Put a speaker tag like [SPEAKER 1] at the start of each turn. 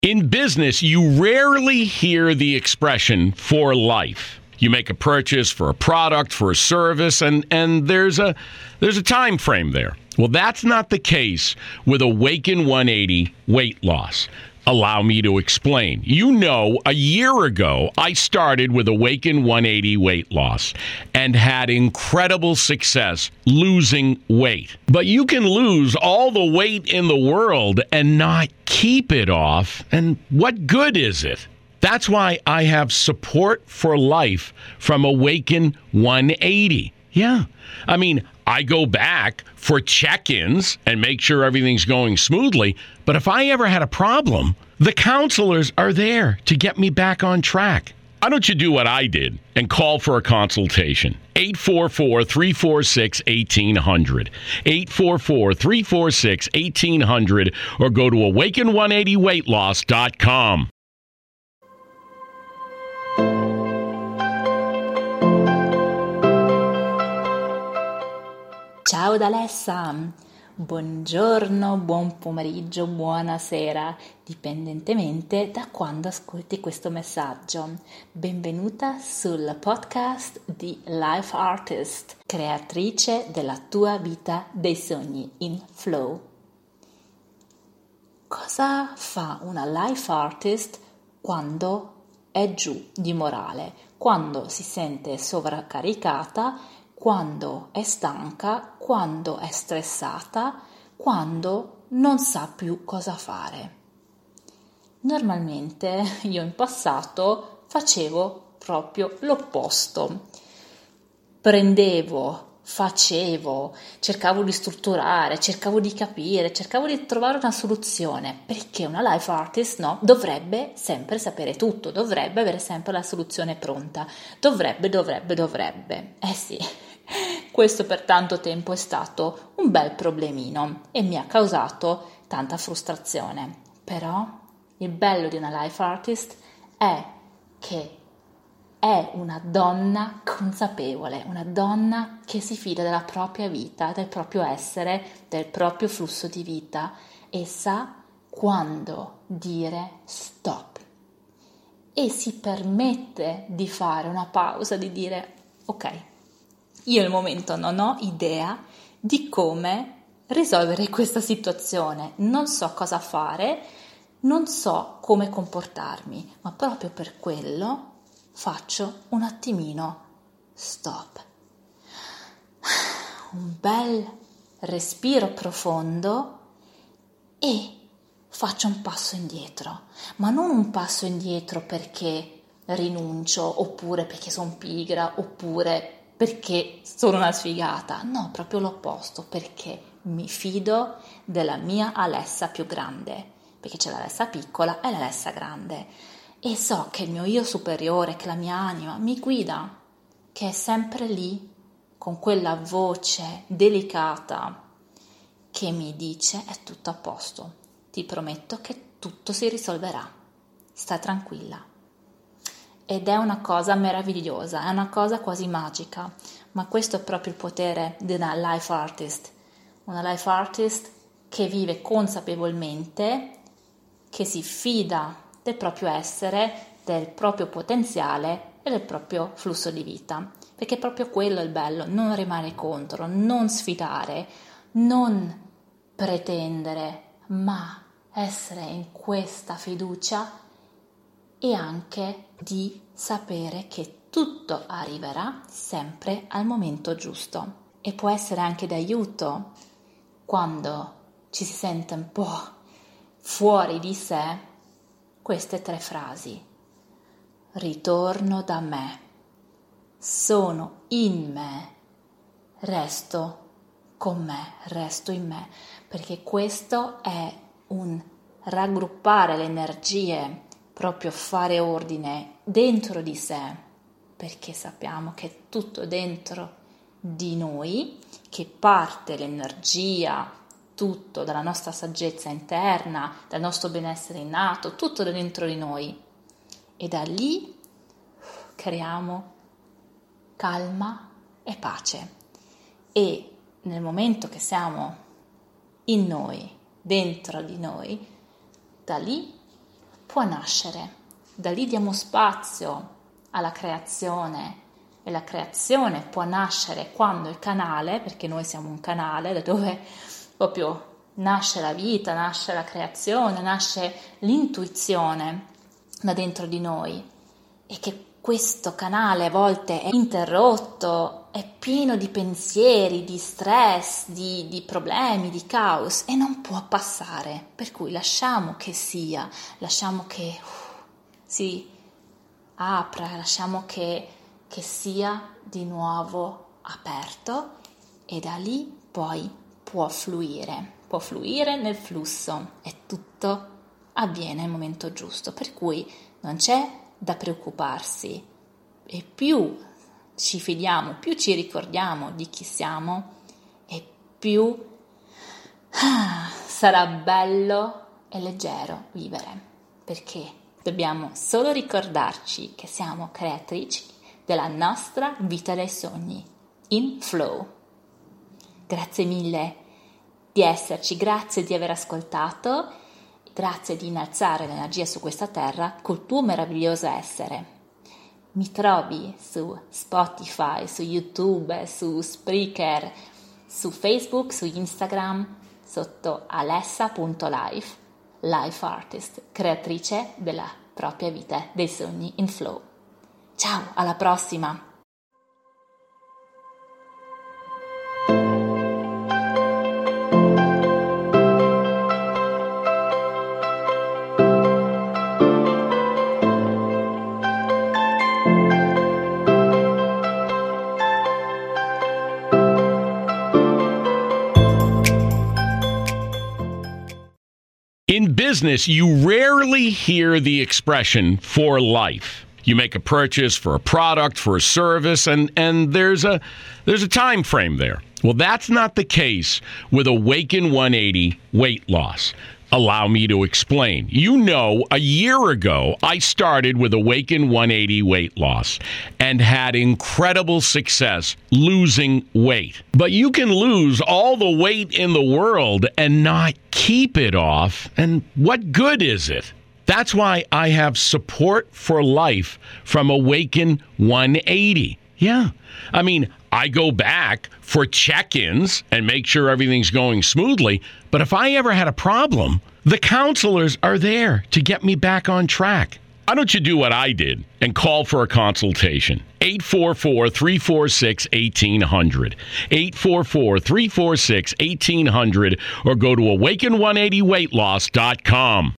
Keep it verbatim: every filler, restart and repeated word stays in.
[SPEAKER 1] In business, you rarely hear the expression for life. You make a purchase for a product, for a service, and, and there's a there's a time frame there. Well, that's not the case with Awaken one eighty weight loss. Allow me to explain. You know, a year ago, I started with Awaken one eighty weight loss and had incredible success losing weight. But you can lose all the weight in the world and not keep it off. And what good is it? That's why I have support for life from Awaken one eighty. Yeah. I mean, I go back for check-ins and make sure everything's going smoothly. But if I ever had a problem, the counselors are there to get me back on track. Why don't you do what I did and call for a consultation? eight four four, three four six, one eight zero zero. eight four four, three four six, one eight zero zero or go to awaken one eighty weight loss dot com.
[SPEAKER 2] Ciao da Alessa, buongiorno, buon pomeriggio, buonasera, dipendentemente da quando ascolti questo messaggio. Benvenuta sul podcast di Life Artist, creatrice della tua vita dei sogni in flow. Cosa fa una life artist quando è giù di morale, quando si sente sovraccaricata, quando è stanca, quando è stressata, quando non sa più cosa fare? Normalmente io in passato facevo proprio l'opposto. Prendevo, facevo, cercavo di strutturare, cercavo di capire, cercavo di trovare una soluzione, perché una life artist, no, dovrebbe sempre sapere tutto, dovrebbe avere sempre la soluzione pronta, dovrebbe, dovrebbe, dovrebbe. Eh sì. Questo per tanto tempo è stato un bel problemino e mi ha causato tanta frustrazione. Però il bello di una life artist è che è una donna consapevole, una donna che si fida della propria vita, del proprio essere, del proprio flusso di vita e sa quando dire stop. E si permette di fare una pausa, di dire ok, io al momento non ho idea di come risolvere questa situazione, non so cosa fare, non so come comportarmi, ma proprio per quello faccio un attimino stop. Un bel respiro profondo e faccio un passo indietro, ma non un passo indietro perché rinuncio, oppure perché sono pigra, oppure perché sono una sfigata, no, proprio l'opposto, perché mi fido della mia Alessa più grande, perché c'è l'Alessa piccola e l'Alessa grande, e so che il mio io superiore, che la mia anima mi guida, che è sempre lì, con quella voce delicata che mi dice è tutto a posto, ti prometto che tutto si risolverà, sta tranquilla. Ed è una cosa meravigliosa, è una cosa quasi magica, ma questo è proprio il potere di una life artist, una life artist che vive consapevolmente, che si fida del proprio essere, del proprio potenziale e del proprio flusso di vita, perché proprio quello è il bello, non rimane contro, non sfidare, non pretendere, ma essere in questa fiducia e anche di sapere che tutto arriverà sempre al momento giusto. E può essere anche d'aiuto quando ci si sente un po' fuori di sé queste tre frasi. Ritorno da me, sono in me, resto con me, resto in me, perché questo è un raggruppare le energie, proprio fare ordine dentro di sé, perché sappiamo che è tutto dentro di noi, che parte l'energia, tutto dalla nostra saggezza interna, dal nostro benessere innato, tutto da dentro di noi, e da lì creiamo calma e pace. E nel momento che siamo in noi, dentro di noi, da lì può nascere. Da lì diamo spazio alla creazione e la creazione può nascere quando il canale, perché noi siamo un canale da dove proprio nasce la vita, nasce la creazione, nasce l'intuizione da dentro di noi, e che questo canale a volte è interrotto, è pieno di pensieri, di stress, di, di problemi, di caos, e non può passare, per cui lasciamo che sia, lasciamo che uh, si apra, lasciamo che, che sia di nuovo aperto, e da lì poi può fluire, può fluire nel flusso, e tutto avviene al momento giusto, per cui non c'è da preoccuparsi, e più ci fidiamo, più ci ricordiamo di chi siamo, e più ah, sarà bello e leggero vivere, perché dobbiamo solo ricordarci che siamo creatrici della nostra vita dei sogni, in flow. Grazie mille di esserci, grazie di aver ascoltato, grazie di innalzare l'energia su questa terra col tuo meraviglioso essere. Mi trovi su Spotify, su YouTube, su Spreaker, su Facebook, su Instagram, sotto alessa punto life, life artist, creatrice della propria vita dei sogni in flow. Ciao, alla prossima!
[SPEAKER 1] In business, you rarely hear the expression for life. You make a purchase for a product, for a service, and, and there's a there's a time frame there. Well, that's not the case with Awaken one eighty weight loss. Allow me to explain. You know, a year ago, I started with Awaken one eighty weight loss and had incredible success losing weight. But you can lose all the weight in the world and not keep it off. And what good is it? That's why I have support for life from Awaken one eighty. Yeah. I mean, I go back for check-ins and make sure everything's going smoothly. But if I ever had a problem, the counselors are there to get me back on track. Why don't you do what I did and call for a consultation? eight four four, three four six, one eight zero zero. eight four four, three four six, one eight zero zero or go to awaken one eighty weight loss dot com.